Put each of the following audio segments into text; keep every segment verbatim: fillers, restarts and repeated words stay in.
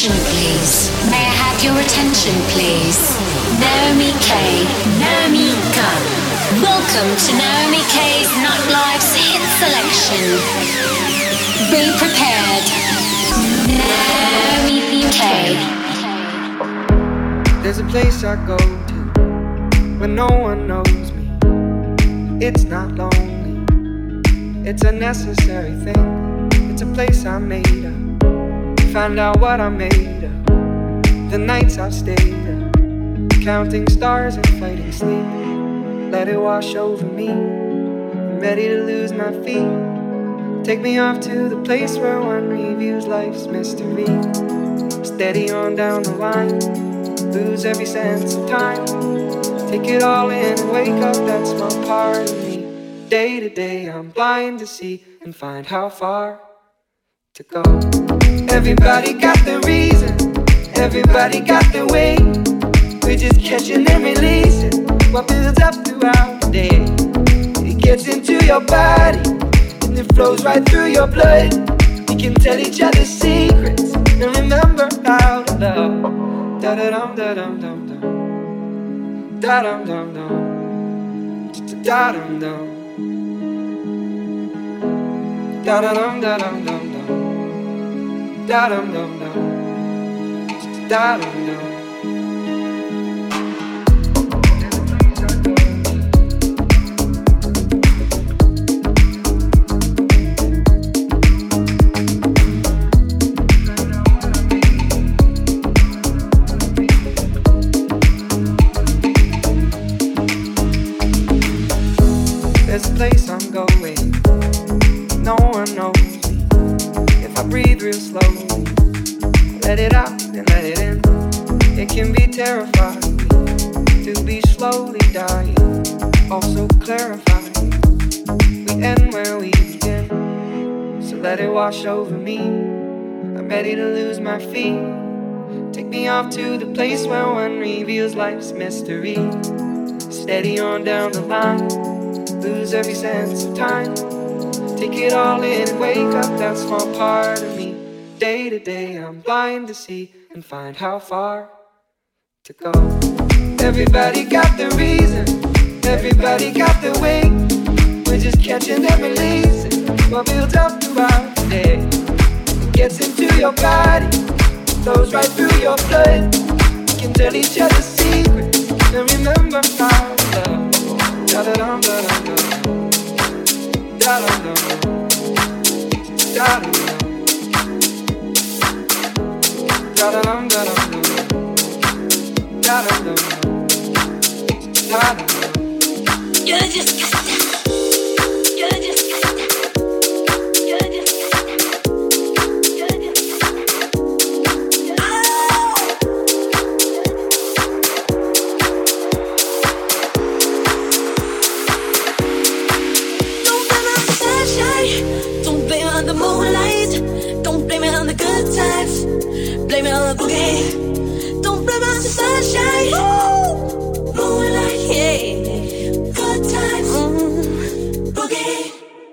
attention, please? May I have your attention, please? Naomi K. Naomi Gunn. Welcome to Naomi K's Nightlife's hit selection. Be prepared. Naomi K. There's a place I go to when no one knows me. It's not lonely, it's a necessary thing. It's a place I made up. Find out what I made of. The nights I've stayed up, counting stars and fighting sleep. Let it wash over me. I'm ready to lose my feet. Take me off to the place where one reviews life's mystery. Steady on down the line, lose every sense of time. Take it all in and wake up that small part of me. Day to day I'm blind to see and find how far to go. Everybody got the reason, everybody got the way. We're just catching and releasing what builds up throughout the day. It gets into your body and it flows right through your blood. We can tell each other secrets and remember how to love. Da da dum da dum dum dum, da dum dum dum, da dum dum, da da dum da dum dum dum, da dum dum dum, da dum dum. There's a place I'm going, no one knows me. If I breathe real slowly, let it out and let it in. It can be terrifying to be slowly dying, also clarifying. We end where we begin, so let it wash over me. I'm ready to lose my feet. Take me off to the place where one reveals life's mystery. Steady on down the line, lose every sense of time. Take it all in and wake up that small part of me. Day to day I'm blind to see and find how far to go. Everybody got the reason, everybody got the way. We're just catching and releasing what builds up throughout the day. It gets into your body, flows right through your blood. We can tell each other secrets and remember how to love. Da da dum da dum dum, da dum dum, da dum dum, da da dum da dum dum, da dum dum, da dum dum. You're just got that. You're just got that. You're just got that. You're just got that. Don't blame it on the moonlight. Don't blame it on the good times. Blame it on the boogie. Don't blame it on the sunshine. Ooh. Moonlight, yeah. Good times. Mm. Boogie.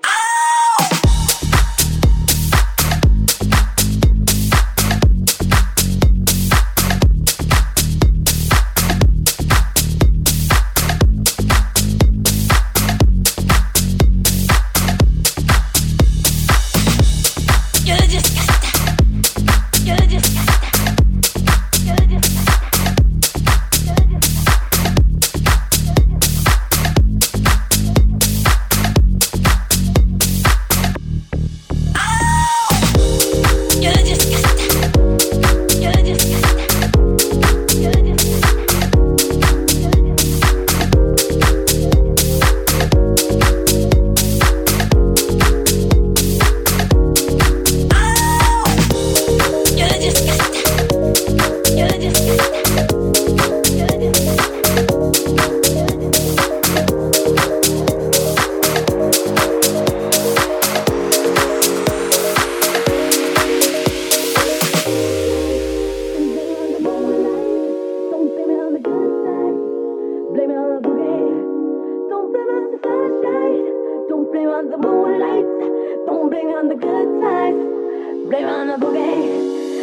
on the moonlight. Don't blame on the good times. Blame on the boogie. Don't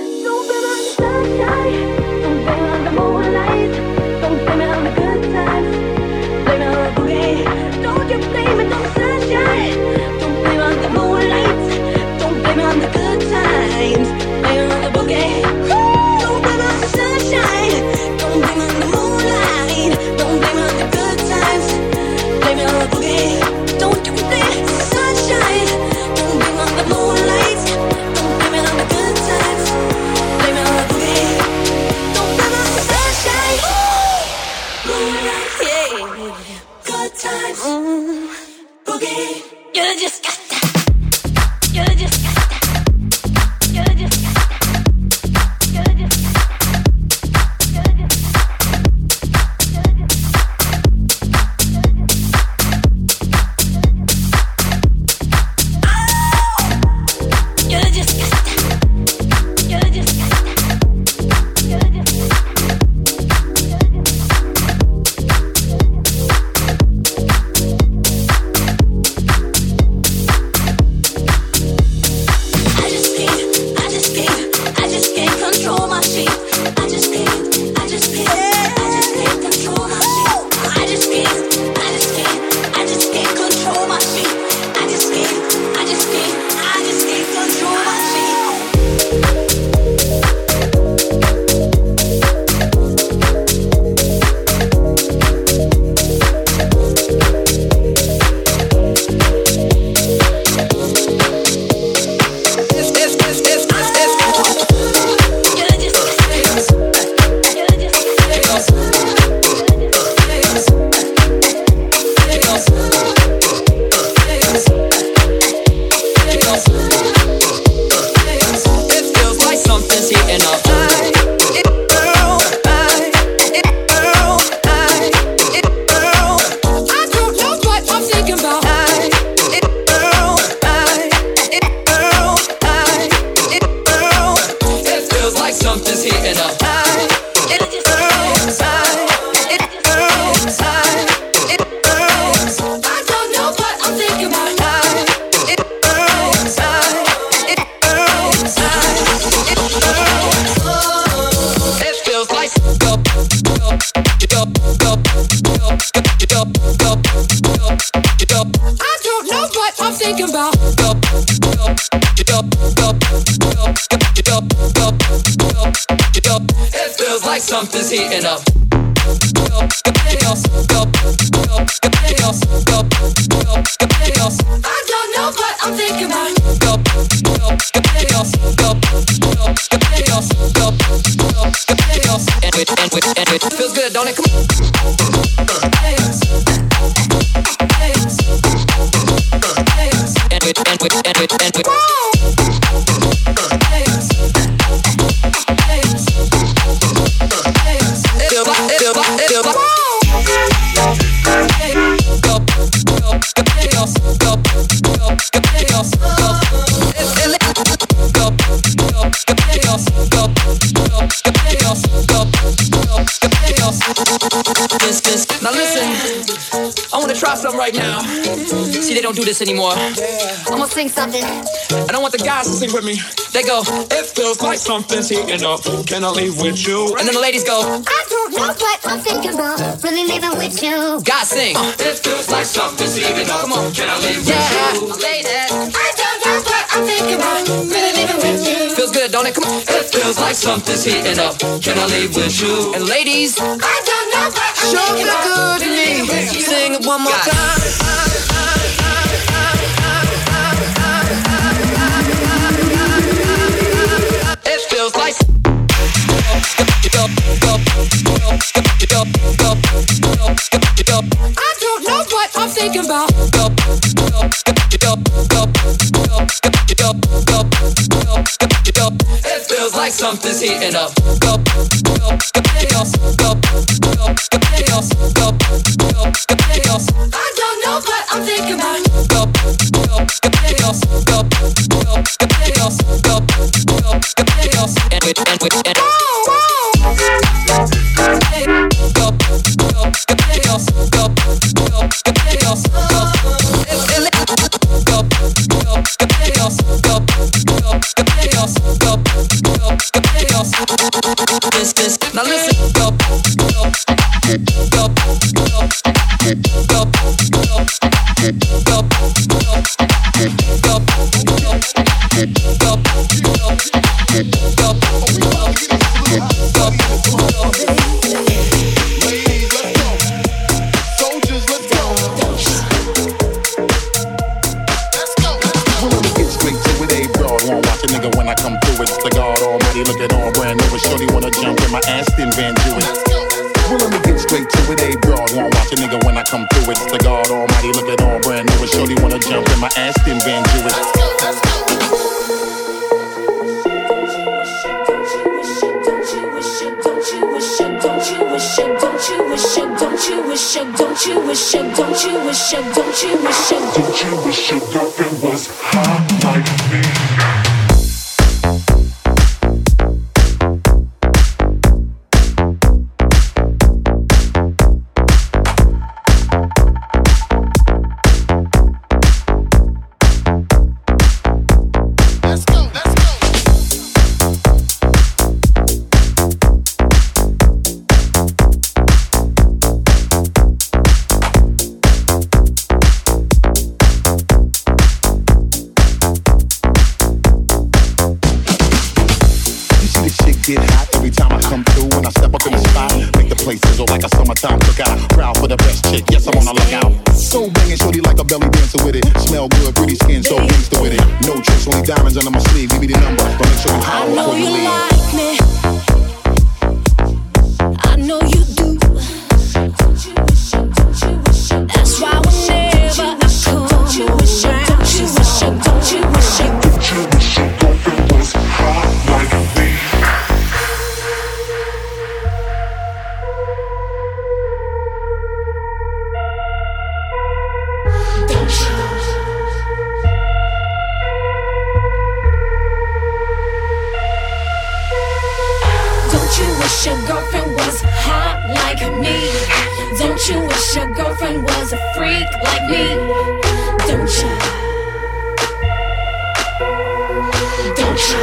Something's heating up. I don't know what I'm thinking about. And it, and it, and it feels good, don't it? Come on. And it, and it, and it, and it. Now listen, I wanna try something right now. See, they don't do this anymore. I'm gonna sing something, and I want the guys to sing with me. They go, it feels like something's heating up. Can I leave with you? And then the ladies go, I don't know what I'm thinking about. Really leaving with you. Guys sing, uh, it feels like something's heating up. Come on, can I leave yeah. with you? Ladies, I don't know what I'm thinking about. Really leaving with you. Feels good, don't it? Come on. It feels like something's heating up. Can I leave with you? And ladies, I don't know what I'm Show thinking me about. good to me. Sing it one more God. time. It feels like I don't know what I'm thinking about. It feels like something's heating up. I don't know what I'm thinking about. And with, and with, and Van Jewish. Well, let me get straight to it, a broad. Won't watch a nigga when I come through it. It's the God Almighty, look at all brand new. Shorty wanna jump in my Aston Van Jewish. Don't you wish it, don't you wish it, don't you wish it, don't you wish it, don't you wish it, don't you wish it, don't you wish it, don't you wish your girlfriend was hot like me? Get hot every time I come through. When I step up in the spot, make the place sizzle like a summertime cookout. Proud for the best chick, yes, I'm on the lookout. So banging, shorty like a belly dancer with it. Smell good, pretty skin, so gangster with it. No tricks, only diamonds under my sleeve. Give me the number, but make sure you holler before you leave. I know you like me. I know you do. That's why whenever I come around, don't you wish it, don't you wish it, don't you wish it, don't you wish your girlfriend was hot like me? Your girlfriend was hot like me. Don't you wish your girlfriend was a freak like me? Don't you? Don't you?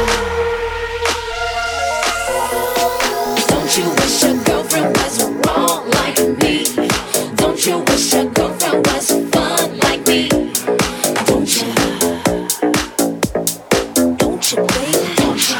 Don't you wish your girlfriend was wrong like me? Don't you wish your girlfriend was fun like me? Don't you? Don't you, baby? Don't you?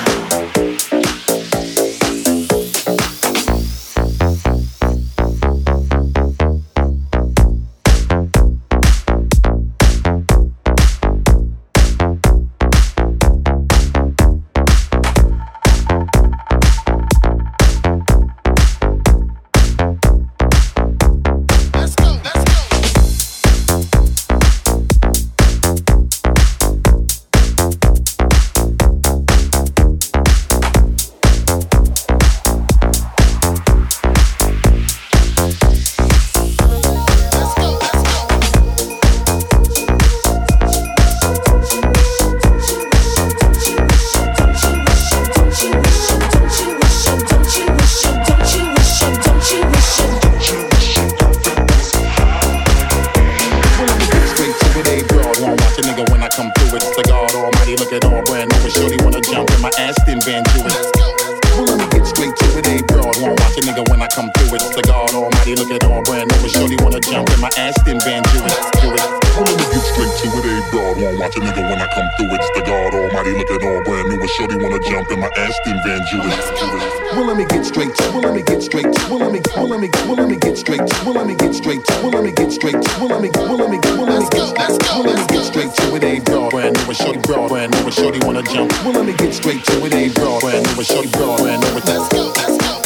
Well, let me get straight to, well, let me get straight to, well, let me, well, let me, well, let me get straight to, well, let me get straight to, well, let me get straight to, well, let me, well, let me, well, let me get, well, let me get straight to it, a broad, brand new, shorty, broad, brand new, shorty wanna jump. Well, let me get straight to it, a broad, brand new, shorty, broad, brand new, let's go, let's go.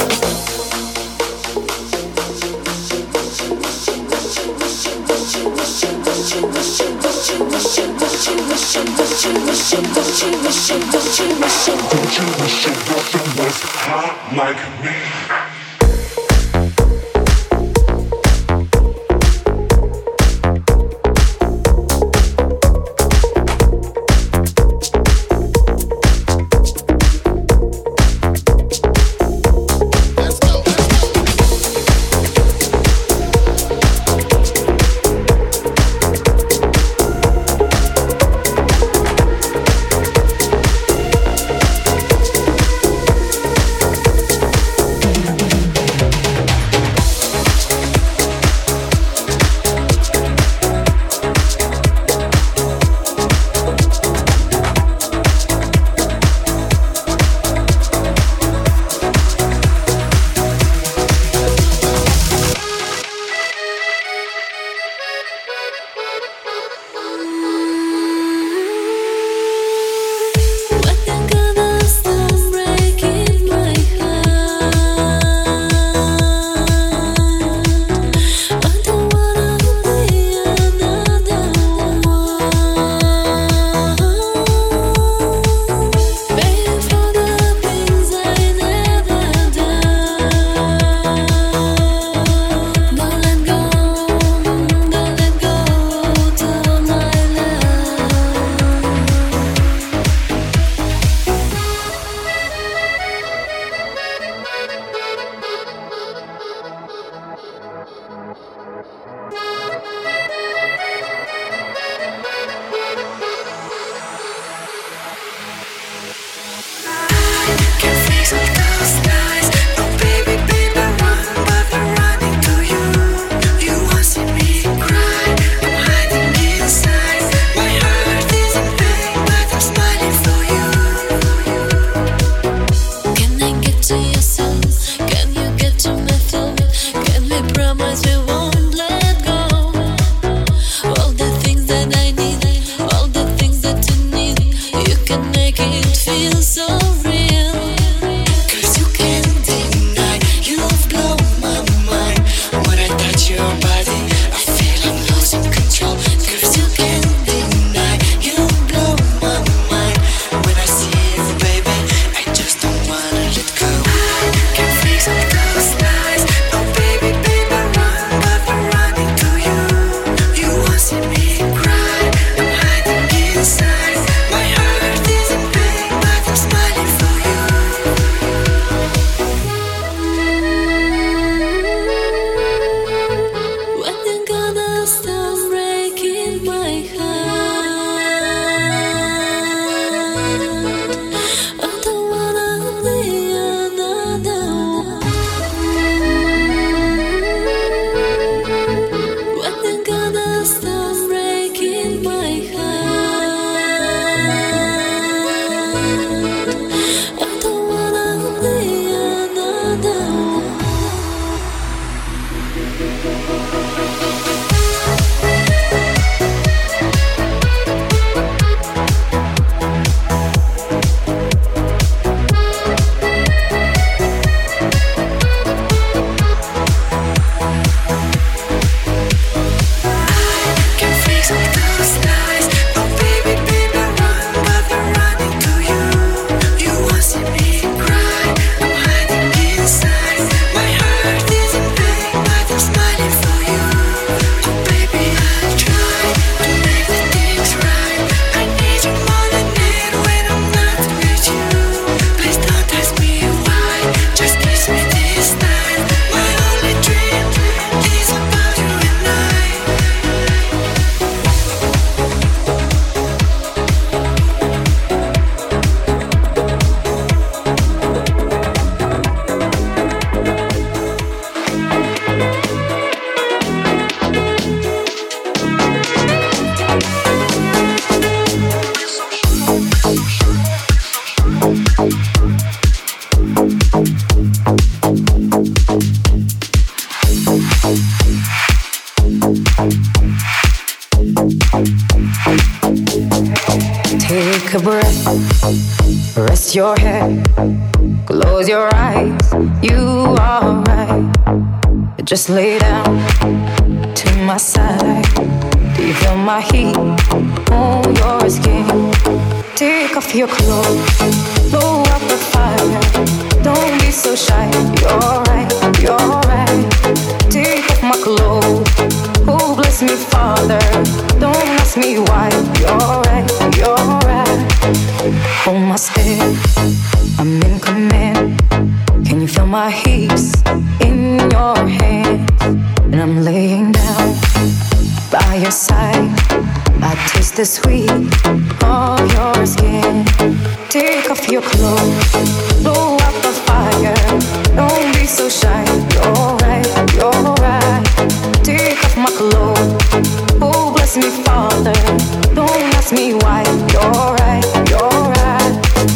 Don't you wish your girlfriend was hot like me? Take a breath, rest your head, close your eyes, you are right. Just lay down to my side. Do you feel my heat on your skin? Take off your clothes, blow up the fire. Don't be so shy, you're right, you're right. Take off my clothes, oh bless me Father. Don't ask me why, you're right, you're right. Hold my step, I'm in command. Can you feel my hips in your hands? And I'm laying down by your side. I taste the sweet of your skin. Take off your clothes, blow up the fire. Don't be so shy, you're right, you're right. Take off my clothes, oh bless me Father. Don't ask me why, you're right, you're right.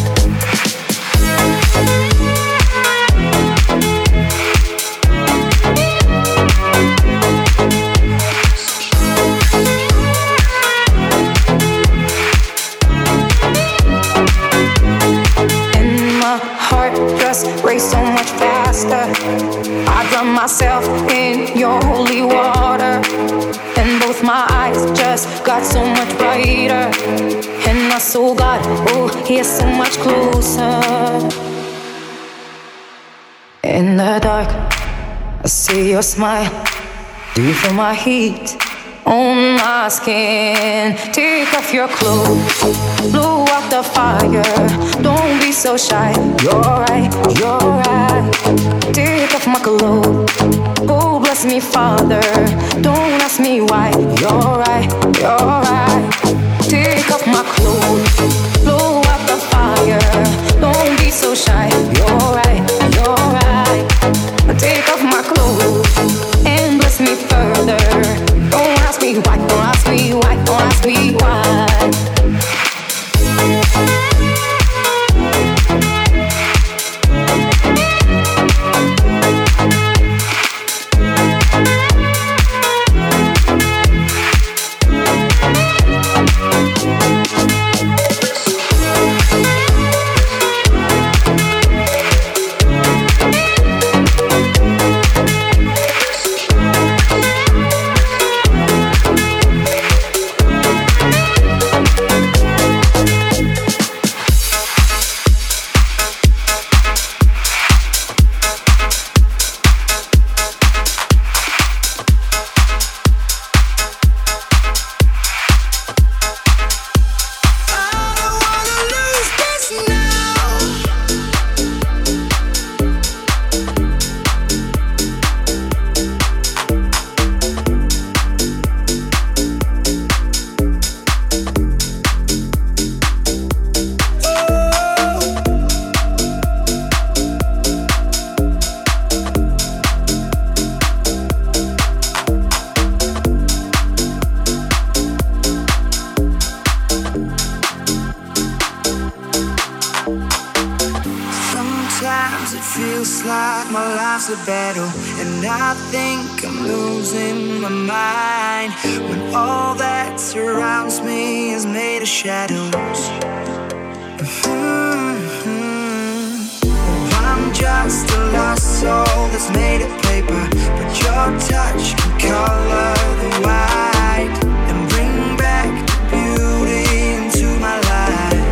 Race so much faster. I drown myself in your holy water, and both my eyes just got so much brighter. And I saw God, oh, He is so much closer. In the dark, I see your smile. Do you feel my heat on my skin? Take off your clothes, blow out the fire. Don't be so shy, you're right, you're right. Take off my clothes, oh bless me Father. Don't ask me why, you're right, you're right. Take off my clothes, blow out the fire. Don't be so shy, you're right, you're right. Take off my clothes and bless me further. Don't ask me why, don't ask me why, don't ask me why. feels like my life's a battle, and I think I'm losing my mind when all that surrounds me is made of shadows. Mm-hmm. I'm just a lost soul that's made of paper, but your touch can color the white and bring back the beauty into my life.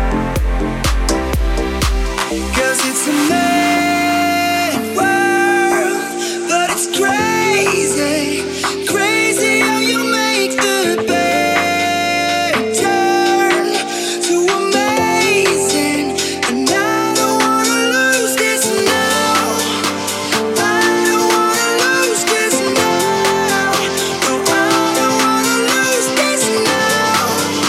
'Cause it's a mad world, but it's crazy, crazy how you make the bad turn to amazing. And I don't wanna lose this now. I don't wanna lose this now. No, I don't wanna lose this now.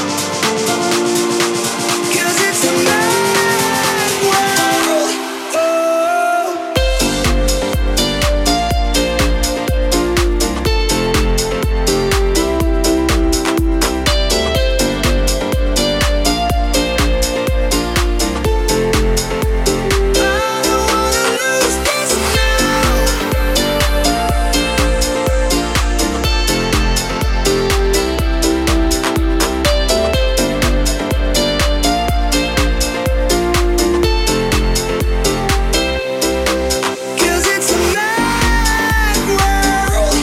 'Cause it's a mad world. Oh. I don't wanna lose this now. 'Cause it's a mad world.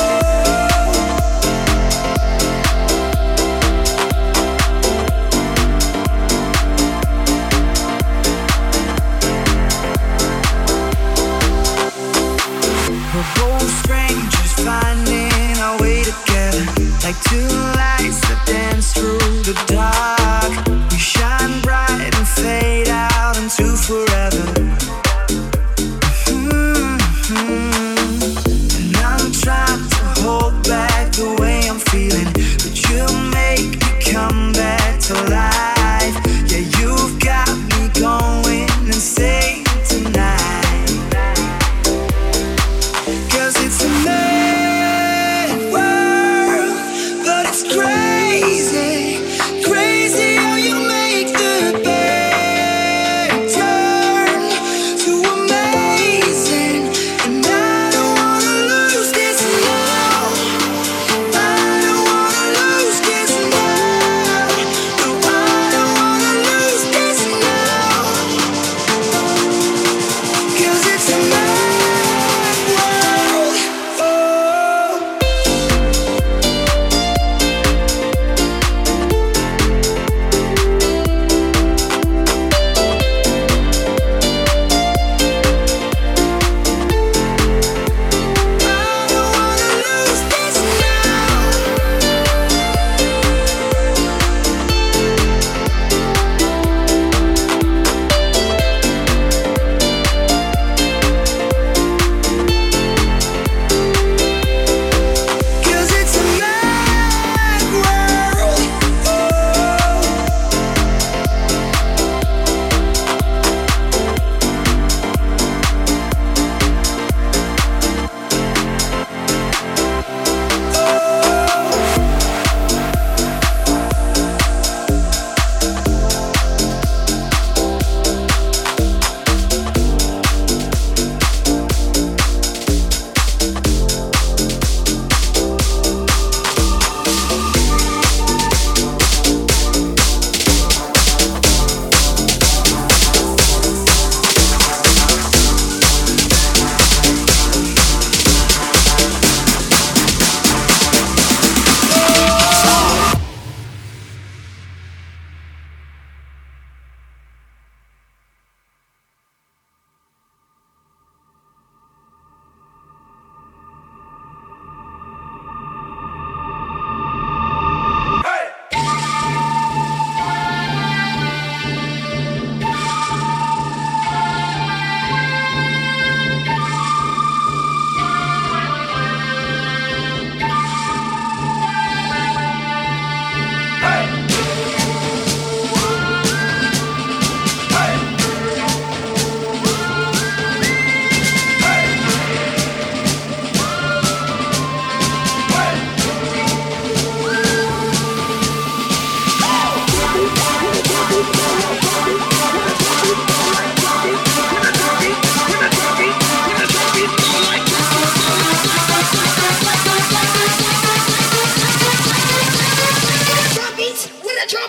We're both strangers finding our way together, like two lights that dance through the dark. We shine bright and fade out into forever. Mm-hmm. And I'm trying to hold back the way I'm feeling, but you make me come back to life. Yeah, you've got me going insane tonight. 'Cause it's a mad world, but it's crazy, crazy how you make the bad turn to amazing. And I don't wanna lose this now. I don't wanna lose this now. No, I don't wanna lose this now. 'Cause it's a mad world. Oh.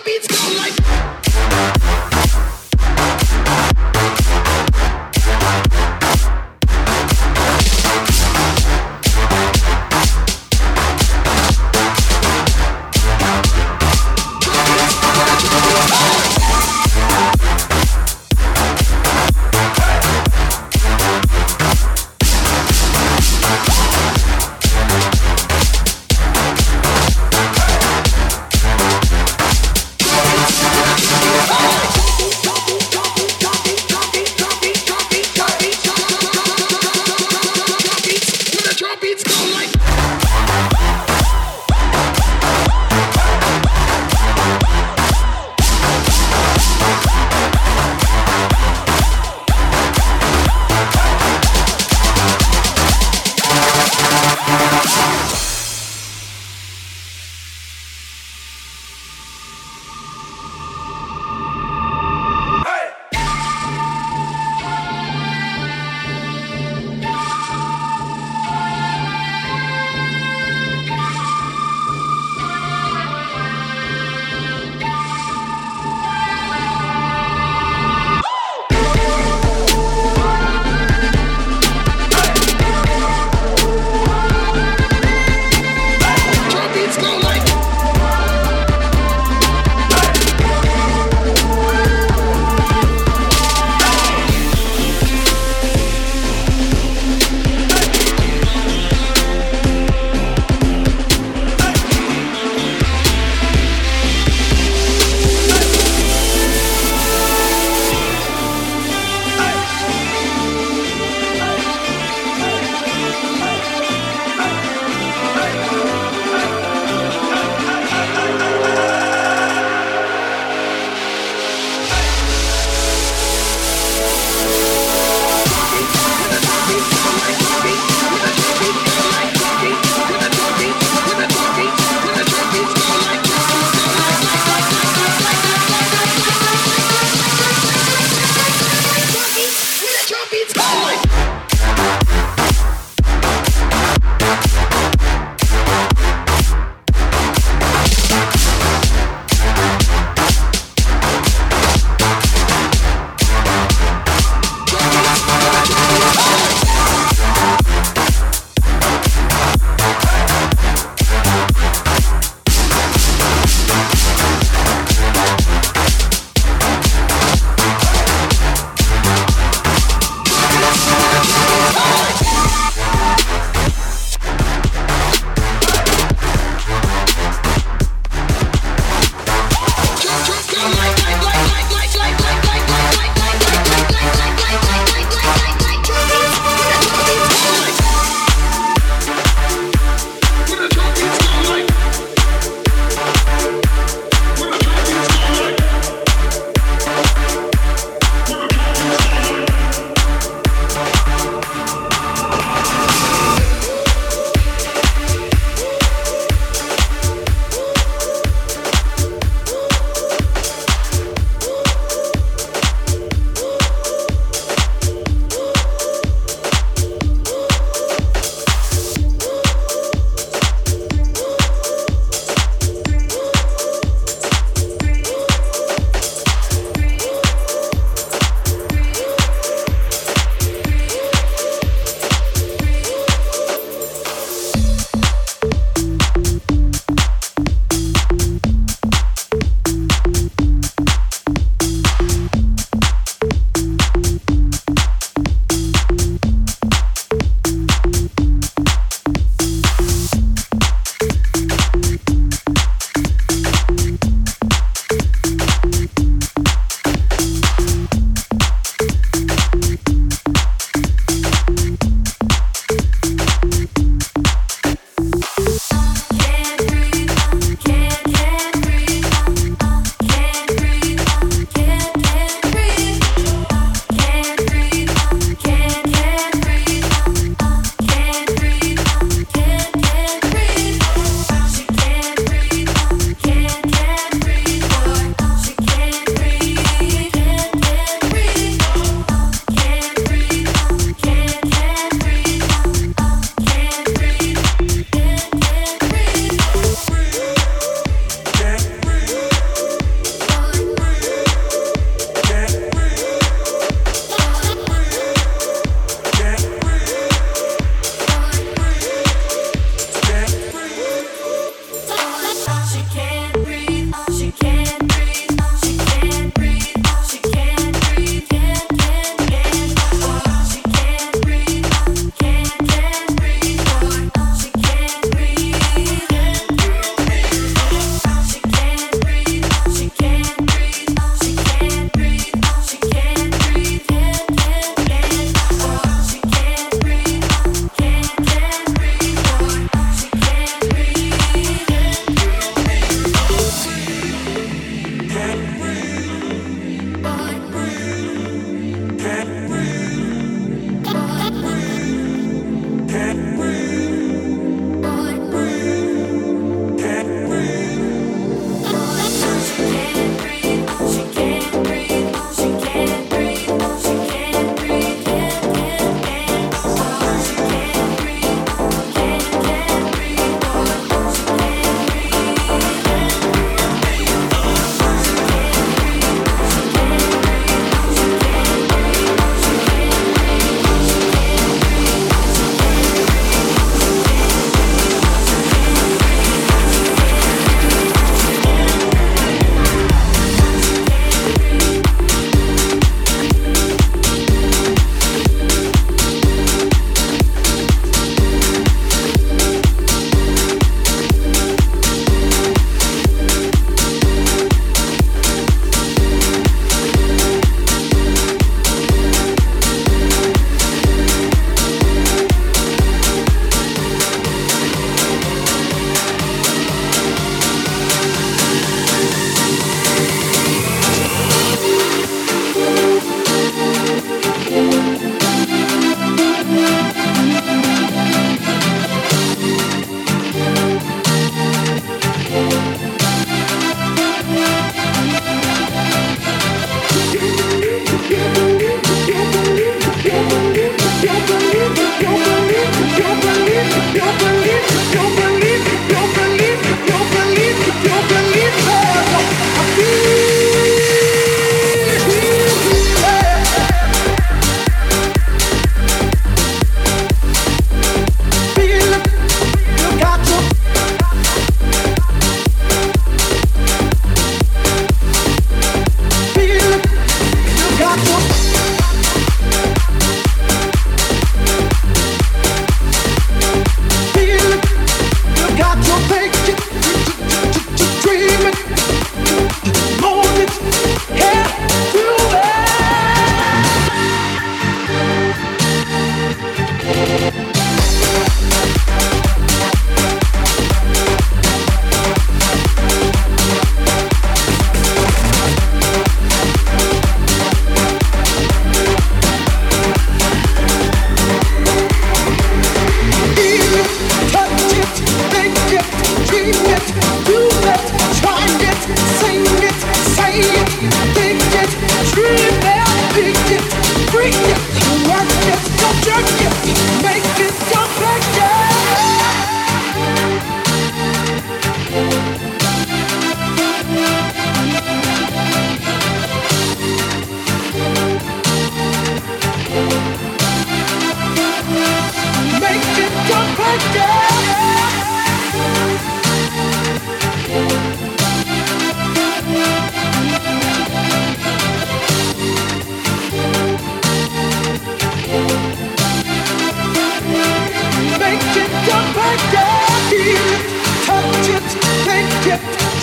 beats go like. Hey!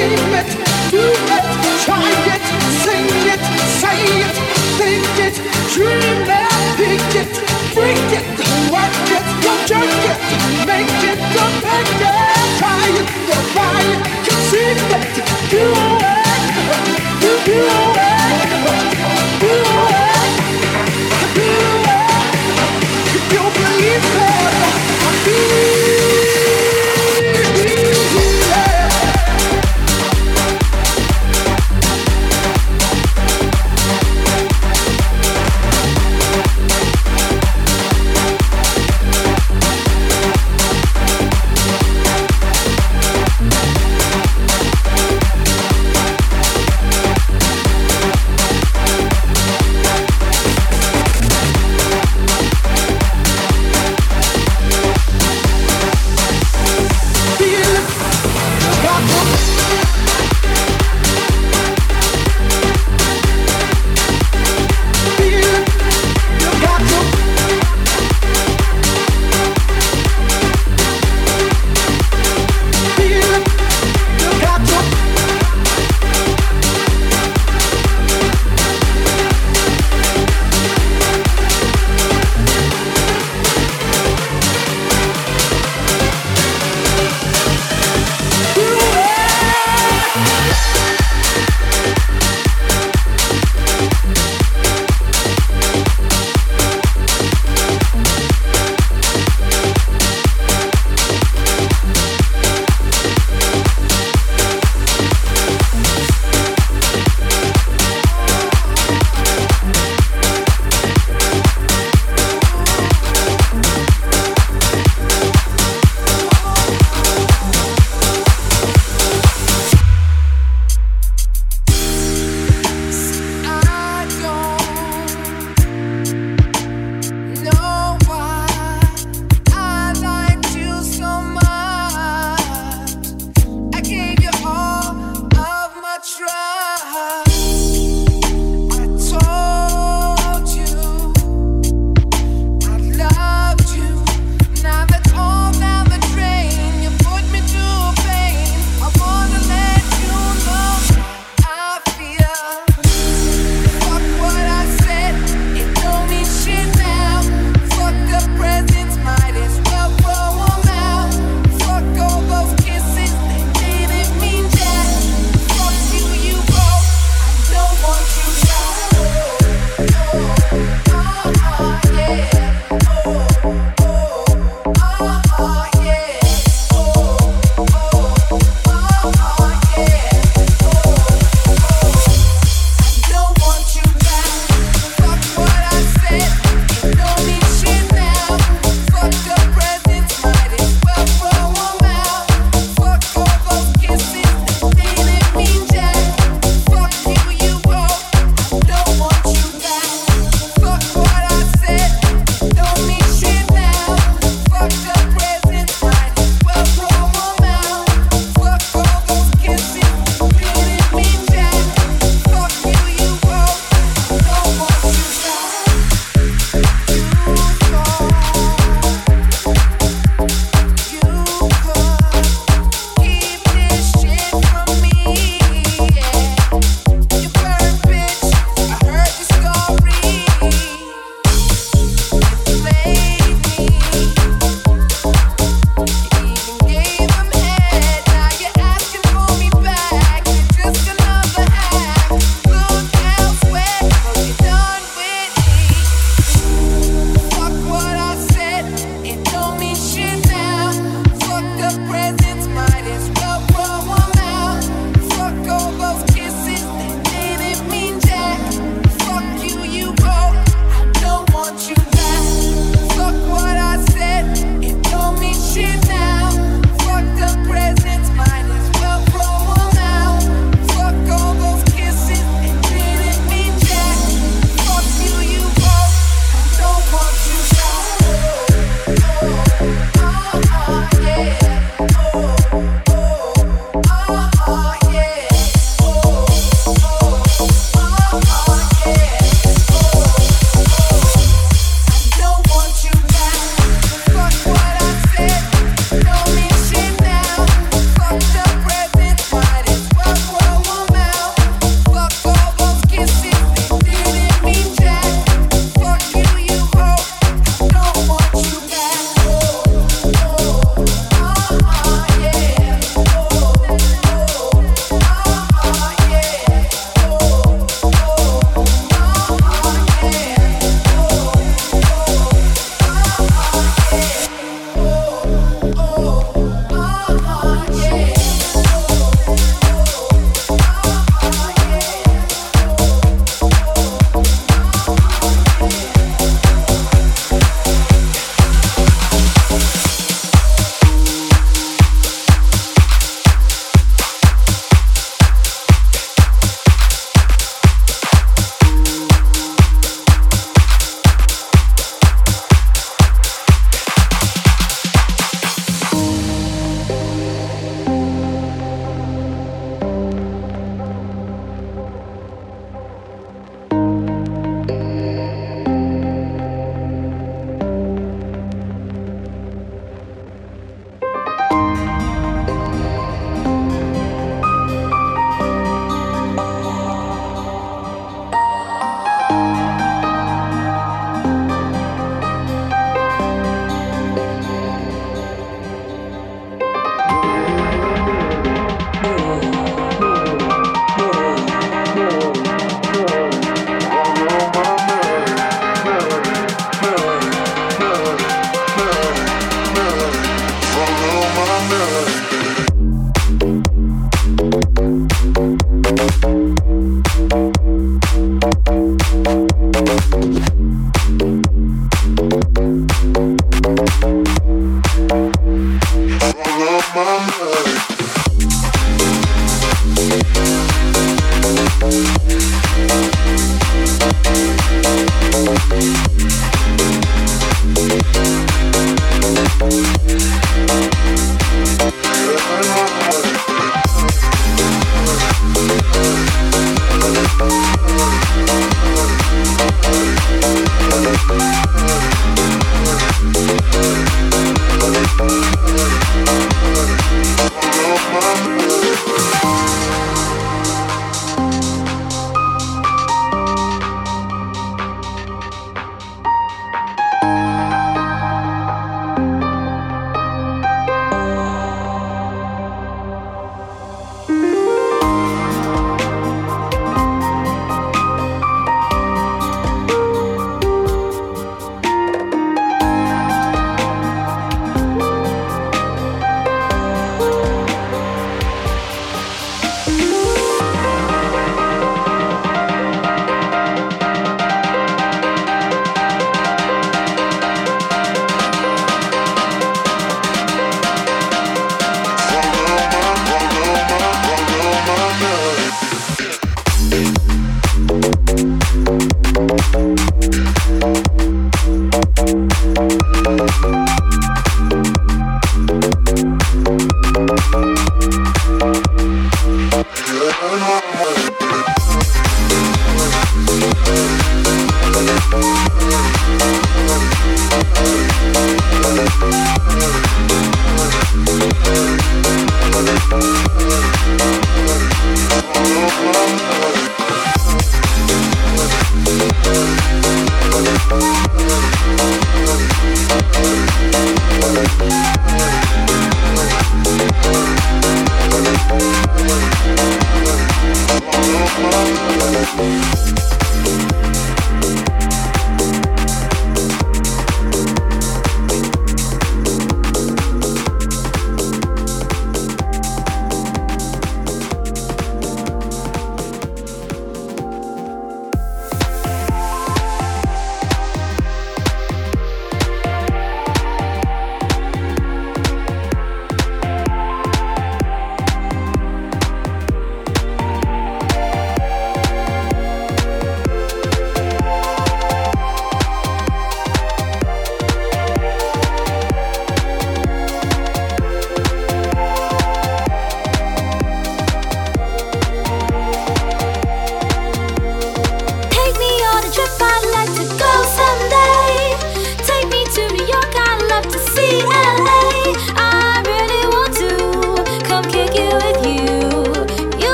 dream it, do it, try it, sing it, say it, think it, dream it, pick it, freak it, work it, go jerk it, make it, go make it, try it, go buy it, conceive it, do it, you do it, do it, do it, if you believe it, I feel.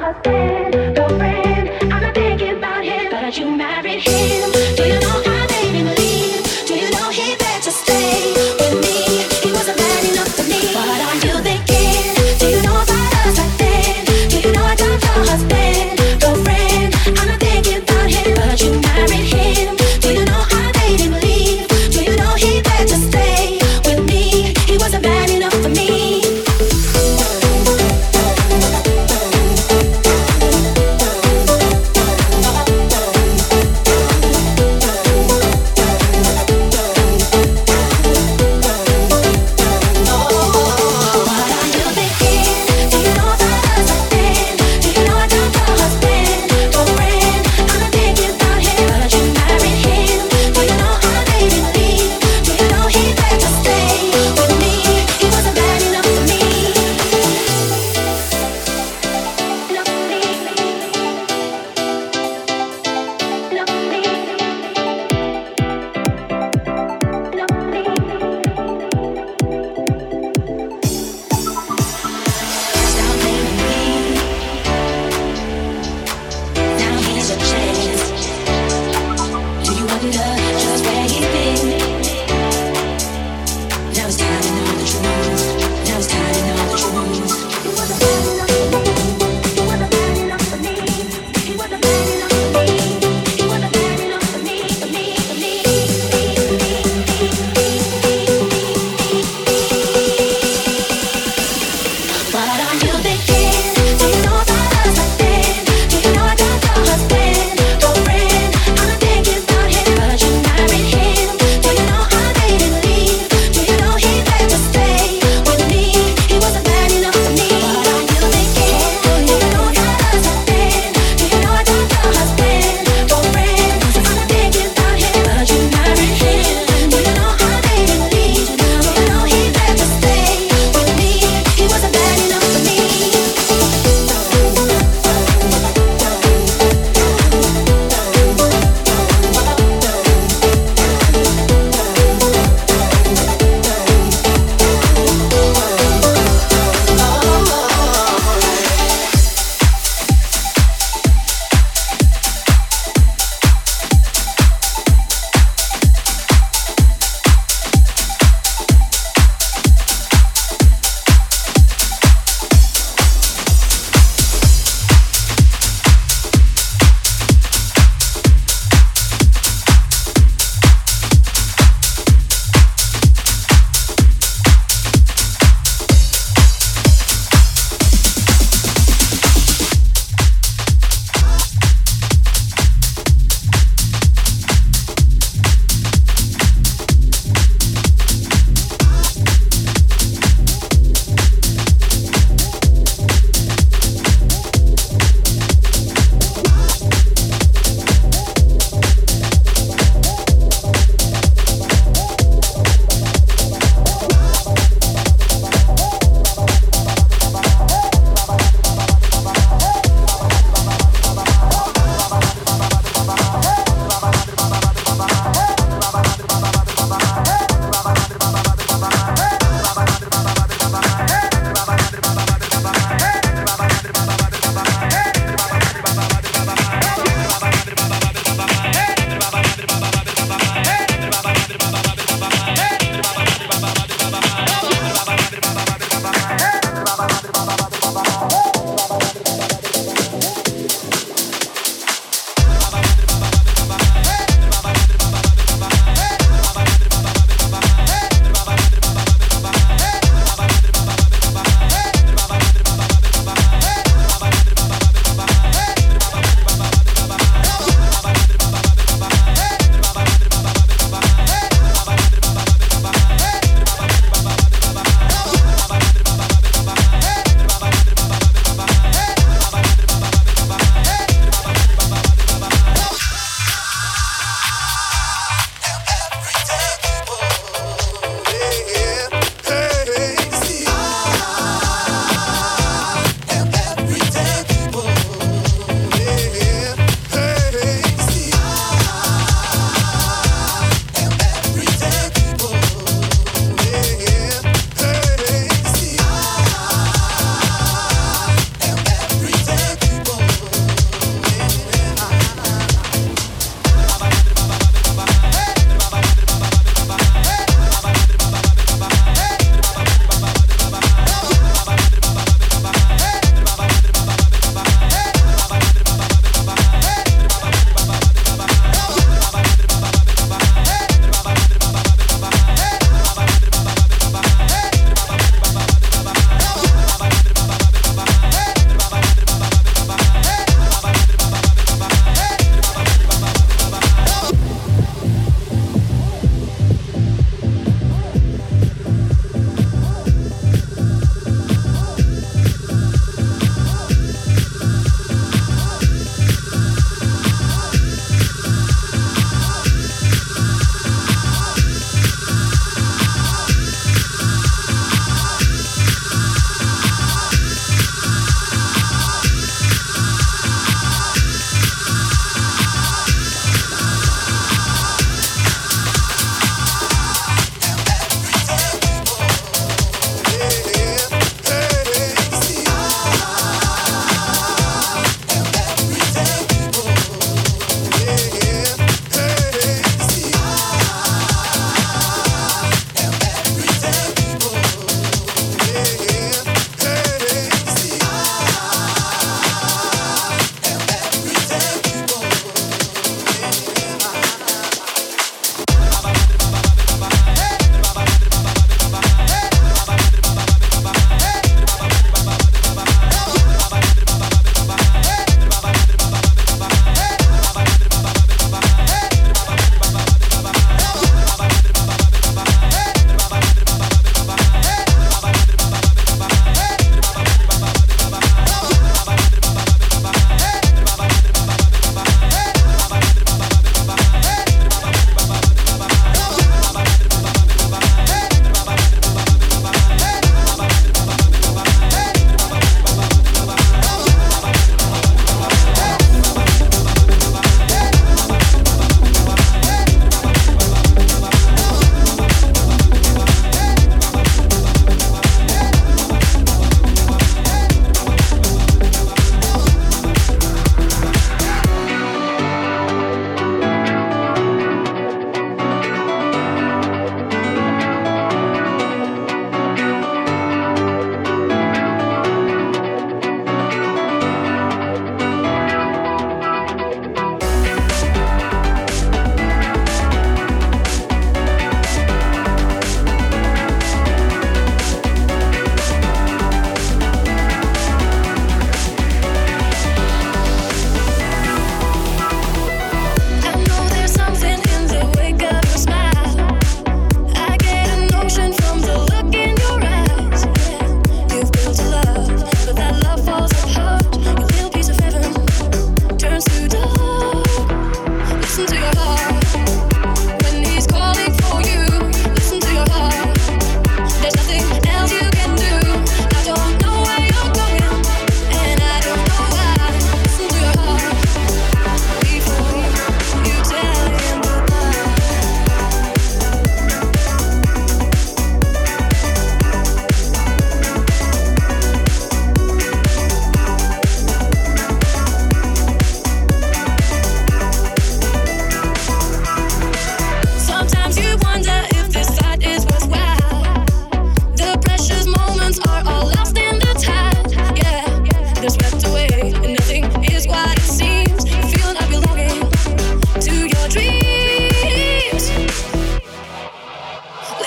He wasn't bad enough for me.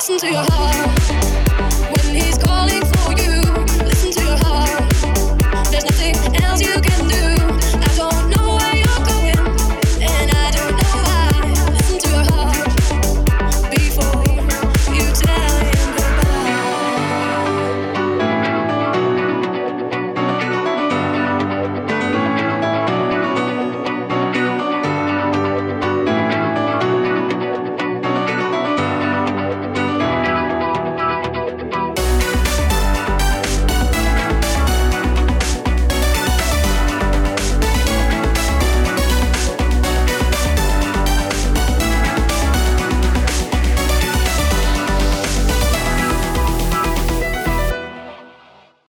listen to your heart.